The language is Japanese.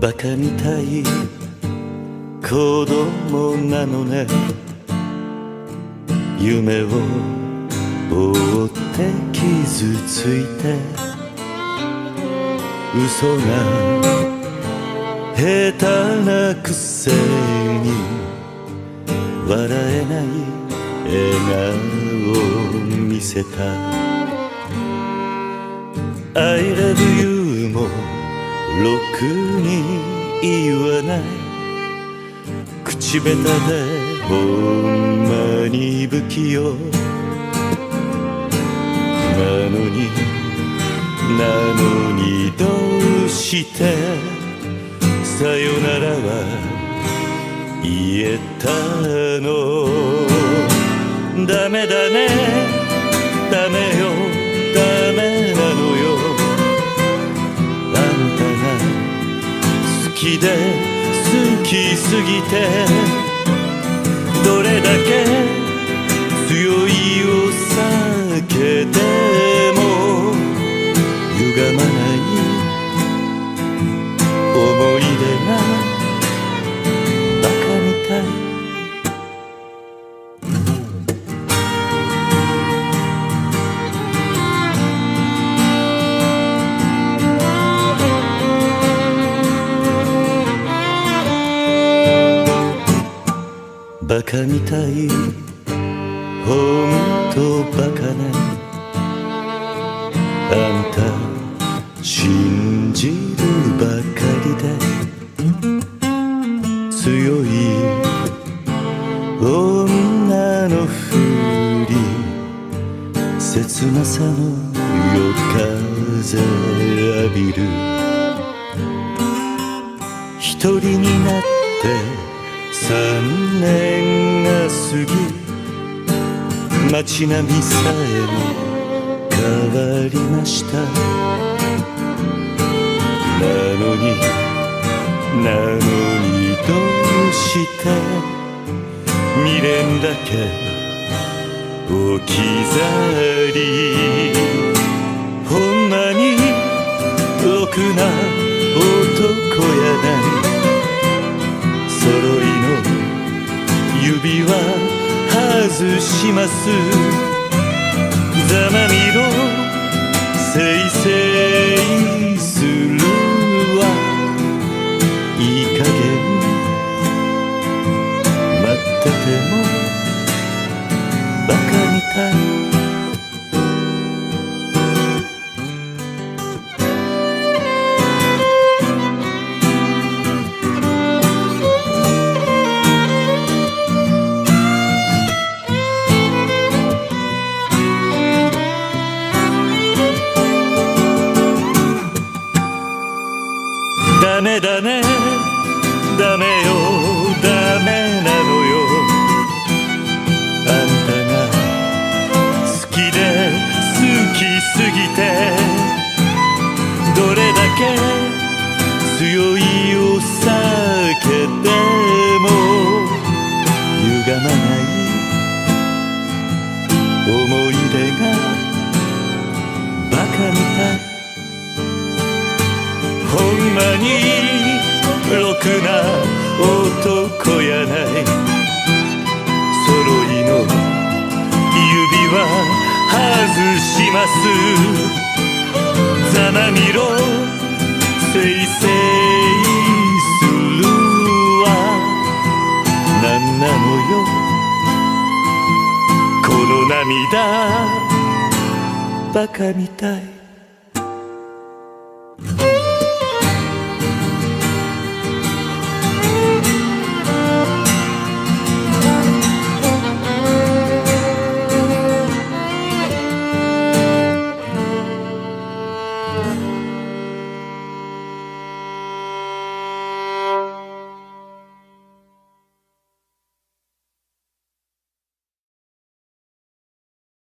バカみたい子供なのね。夢を追って傷ついて、嘘が下手なくせに笑えない笑顔を見せた。 I love you もろくに言わない、口下手でほんまに不器用なのにどうしてさよならは言えたの。ダメだね、ダメよ、ダメなのよ。あんたが好きで好きすぎて、どれだけ強いお酒でも歪まない思い出がバカみたい。バカみたい、ほんとバカね。あんた信じるばかりで、強い女のふり、切なさの夜風浴びる。一人になって3年が過ぎ、街並みさえも変わりました。なのにどうして未練だけ置き去り。ほんまにろくな男やない。揃いの指輪外します。ざまみろせいせいするわ。いい加減待っててもバカみたい。ダメだね、ダメよ、ダメなのよ。あんたが好きで好きすぎて、どれだけ強いお酒でも歪まない思い出がバカみたい。ほんまにろくな男やない。揃いの指輪外します。ざまみろせいせいするわ。なんなのよこの涙バカみたい。